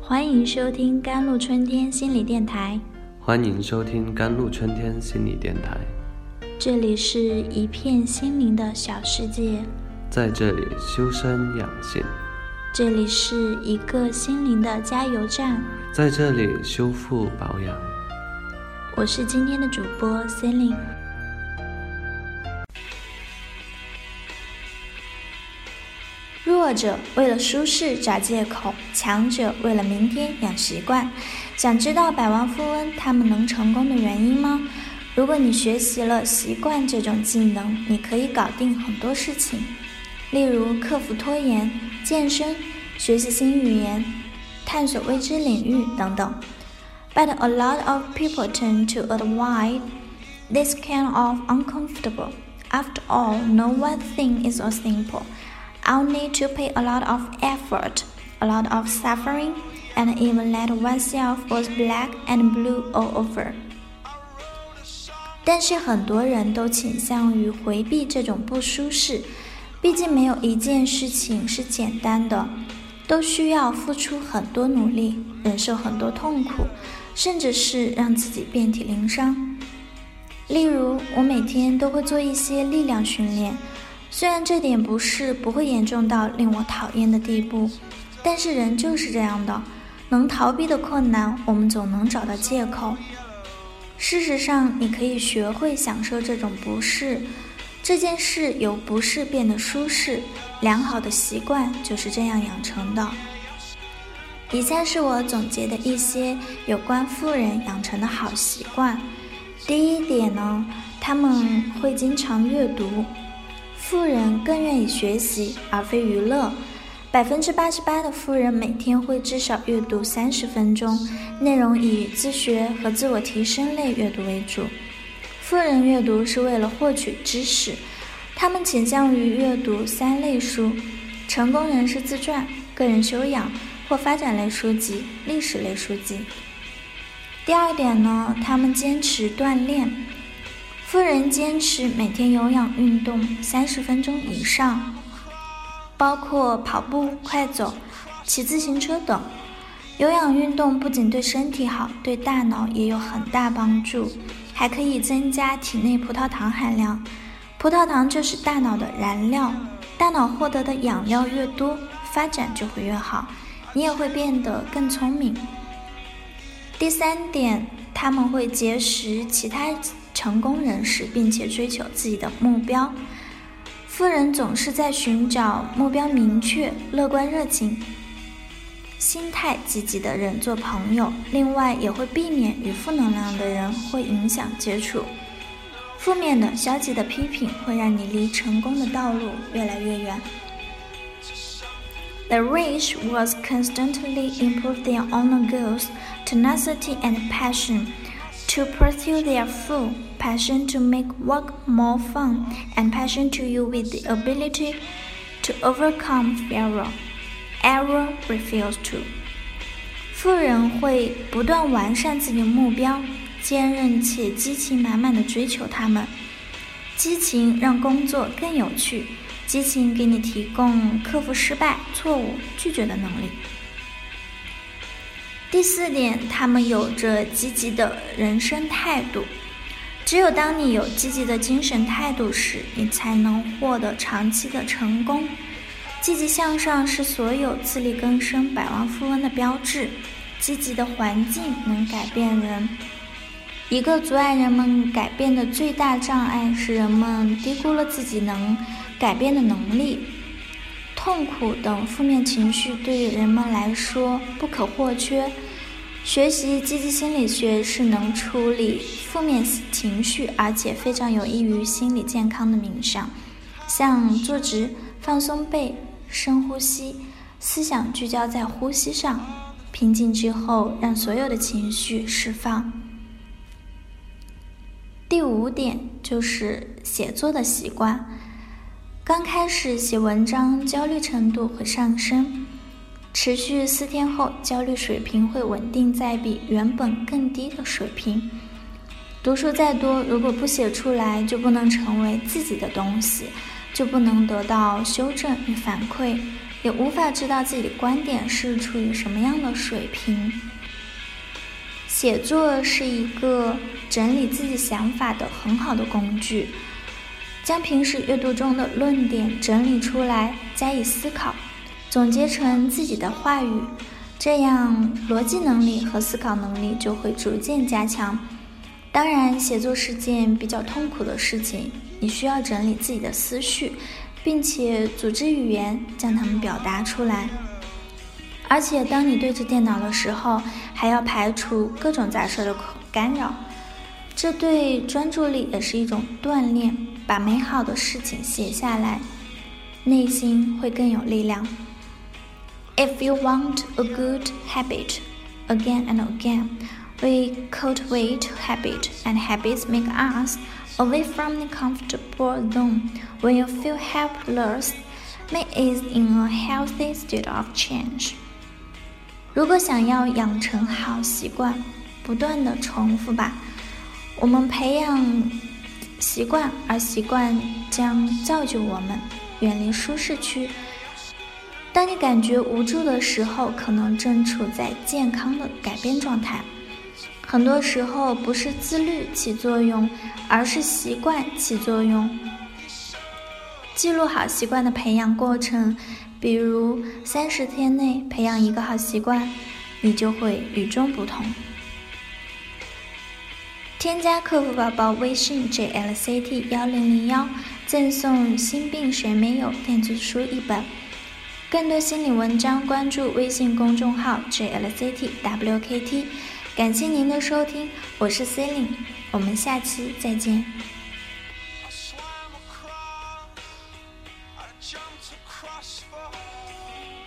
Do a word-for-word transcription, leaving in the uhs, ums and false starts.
欢迎收听甘露春天心理电台。 欢迎收听甘露春天心理电台。 这里是一片心灵的小世界， 在这里修身养性。 这里是一个心灵的加油站， 在这里修复保养。 我是今天的主播 Celine。弱者为了舒适找借口，强者为了明天养习惯。想知道百万富翁他们能成功的原因吗？如果你学习了习惯这种技能，你可以搞定很多事情，例如克服拖延、健身、学习新语言、探索未知领域等等。But a lot of people tend to avoid this kind of uncomfortable. After all, no one thing is so simple.I'll need to pay a lot of effort, a lot of suffering, and even let oneself was black and blue all over. 但是很多人都倾向于回避这种不舒适，毕竟没有一件事情是简单的，都需要付出很多努力，忍受很多痛苦，甚至是让自己遍体鳞伤。例如，我每天都会做一些力量训练，虽然这点不是不会严重到令我讨厌的地步，但是人就是这样的，能逃避的困难，我们总能找到借口。事实上，你可以学会享受这种不适，这件事由不适变得舒适，良好的习惯就是这样养成的。以下是我总结的一些有关富人养成的好习惯。第一点呢，他们会经常阅读。富人更愿意学习而非娱乐，百分之八十八的富人每天会至少阅读三十分钟，内容以自学和自我提升类阅读为主。富人阅读是为了获取知识，他们倾向于阅读三类书：成功人士自传、个人修养或发展类书籍、历史类书籍。第二点呢，他们坚持锻炼。富人坚持每天有氧运动三十分钟以上，包括跑步、快走、骑自行车等。有氧运动不仅对身体好，对大脑也有很大帮助，还可以增加体内葡萄糖含量。葡萄糖就是大脑的燃料，大脑获得的养料越多，发展就会越好，你也会变得更聪明。第三点，他们会结识其他成功人士，并且追求自己的目标。富人总是在寻找目标明确、乐观热情、心态积极的人做朋友，另外也会避免与负能量的人会影响接触。负面的、消极的批评会让你离成功的道路越来越远。The rich was constantly improve their own goals, tenacity and passion.To pursue their full passion to make work more fun and passion to you with the ability to overcome failure. Error refuse to. 富人会不断完善自己的目标，坚韧且激情满满地追求他们。激情让工作更有趣，激情给你提供克服失败、错误、拒绝的能力。第四点，他们有着积极的人生态度。只有当你有积极的精神态度时，你才能获得长期的成功。积极向上是所有自力更生百万富翁的标志。积极的环境能改变人。一个阻碍人们改变的最大障碍是人们低估了自己能改变的能力。痛苦等负面情绪对于人们来说不可或缺。学习积极心理学是能处理负面情绪，而且非常有益于心理健康的冥想，像坐直、放松背、深呼吸，思想聚焦在呼吸上，平静之后让所有的情绪释放。第五点就是写作的习惯。刚开始写文章，焦虑程度会上升，持续四天后，焦虑水平会稳定在比原本更低的水平。读书再多，如果不写出来，就不能成为自己的东西，就不能得到修正与反馈， 也无法知道自己的观点是处于什么样的水平。写作是一个整理自己想法的很好的工具，将平时阅读中的论点整理出来，加以思考，总结成自己的话语，这样逻辑能力和思考能力就会逐渐加强。当然，写作是件比较痛苦的事情，你需要整理自己的思绪，并且组织语言将它们表达出来。而且当你对着电脑的时候，还要排除各种杂事的干扰，这对专注力也是一种锻炼。把美好的事情写下来，内心会更有力量。 If you want a good habit, again and again, we cultivate habit, and habits make us away from the comfortable zone. When you feel helpless, make it in a healthy state of change. 如果想要养成好习惯，不断的重复吧。我们培养习惯，而习惯将造就我们远离舒适区。当你感觉无助的时候，可能正处在健康的改变状态。很多时候不是自律起作用，而是习惯起作用。记录好习惯的培养过程，比如三十天内培养一个好习惯，你就会与众不同。添加客服宝宝微信 J L C T 一零零一，赠送心病谁没有电子书一本。更多心理文章关注微信公众号 J L C T W K T。 感谢您的收听，我是 Celine， 我们下期再见。 jumped across the